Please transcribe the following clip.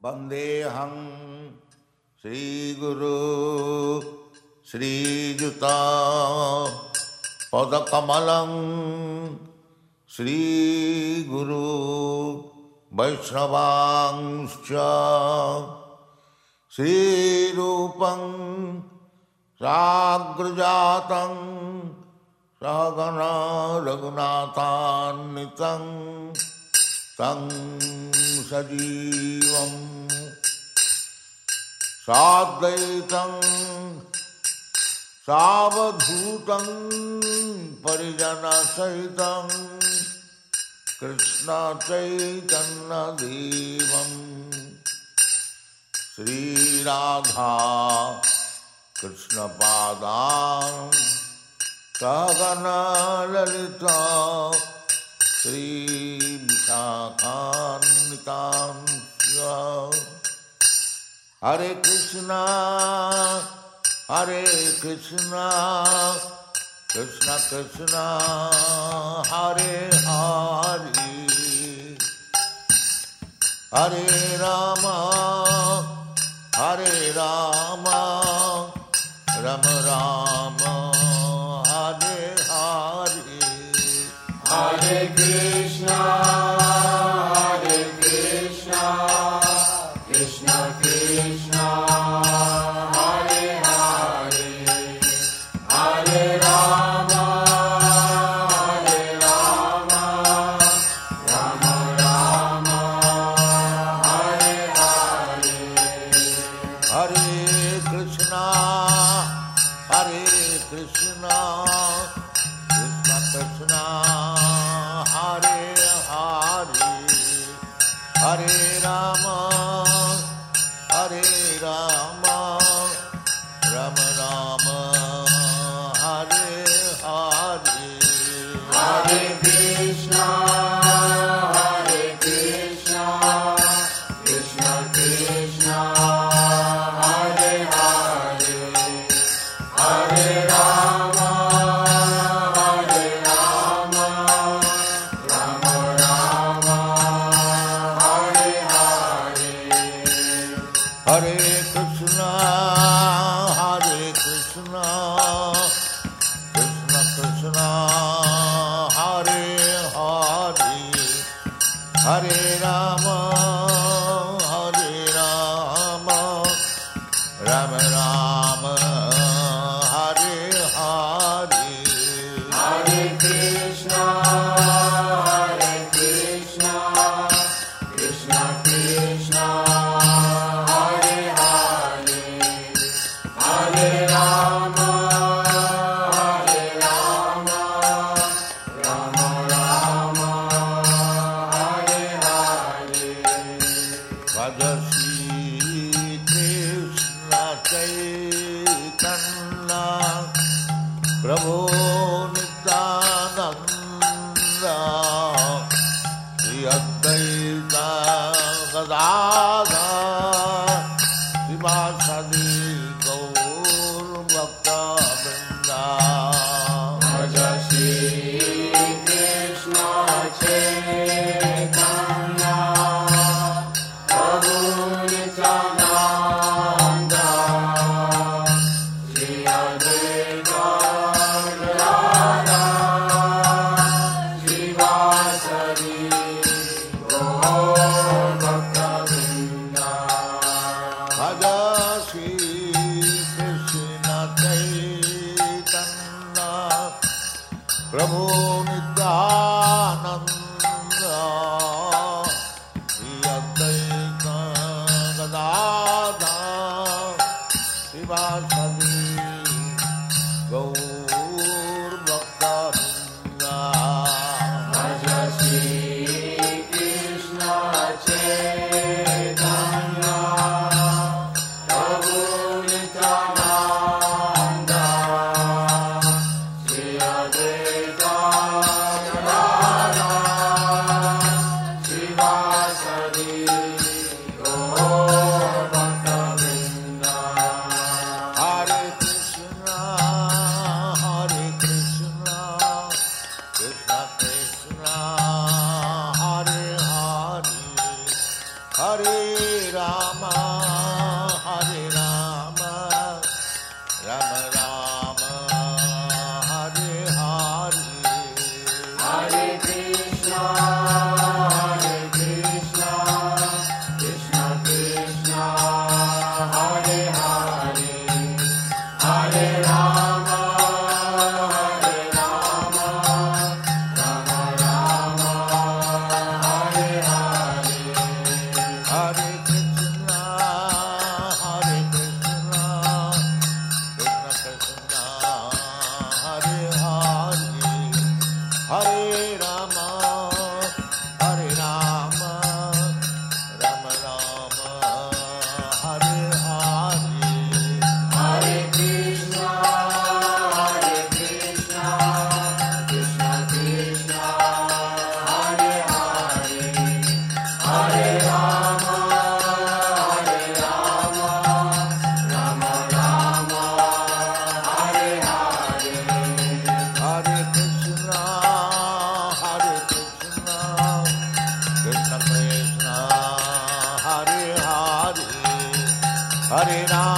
वंदेऽहं श्रीगुरु श्रीयुता पदकमलं श्रीगुरु वैष्णवांश्च श्रीरूपं साग्रजातं सहगना रघुनाथान्वितं तं सजीवं साद्वैतं सावधूतं परिजनसहितं कृष्ण चैतन्यदेवं श्रीराधा कृष्णपादां सहगना ललिता श्रीविशाखान्वितांश्च हरे कृष्णा कृष्ण कृष्ण हरे हरे हरे राम राम राम हरे हरे हरे कृष्णा कृष्ण कृष्ण हरे हरे हरे राम राम राम हरे हरे हरे कृष्णा कृष्ण कृष्ण हरे हरे हरे राम राम राम हरे हरे हरे कृष्णा कृष्ण कृष्ण हरे हरे हरे राम राम राम हरे हरे हरे कृष्णा कृष्ण कृष्ण हरे हरे हरे राम राम राम हरे हरे हरे कृष्णा कृष्ण कृष्ण हरे हरे हरे राम राम हरे हरे भज श्री कृष्ण चैतन्य प्रभु नित्यानंद श्री अद्वैत गदाधर श्रीवासदि गौर भक्तवृंद भज श्री कृष्ण चैतन्य प्रभु नित्यानंद श्री अद्वैत गदाधर श्रीवासदि गौर भक्तवृंद भज श्री कृष्ण चैतन्य प्रभु नित्यानंद श्री अद्वैत गदाधर श्रीवासदि गौर भक्तवृंद भज श्री कृष्ण चैतन्य प्रभु नित्यानंद श्री अद्वैत गदाधर श्रीवासदि गौर भक्तवृंद हरे Rama, Hare Rama, Rama Rama, Hare Hare, Hare Krishna, Krishna Krishna, Hare Hare, Hare Rama, Rama Rama, Hare Hare, Hare Krishna, Krishna Krishna, Hare Hare, Hare Rama, Rama Rama, Hare Hare. Hare Krishna, Krishna Krishna, Hare Hare, Hare Rama, Rama Rama, Hare Hare, Hare Krishna, Krishna Krishna, Hare Hare, Hare Rama,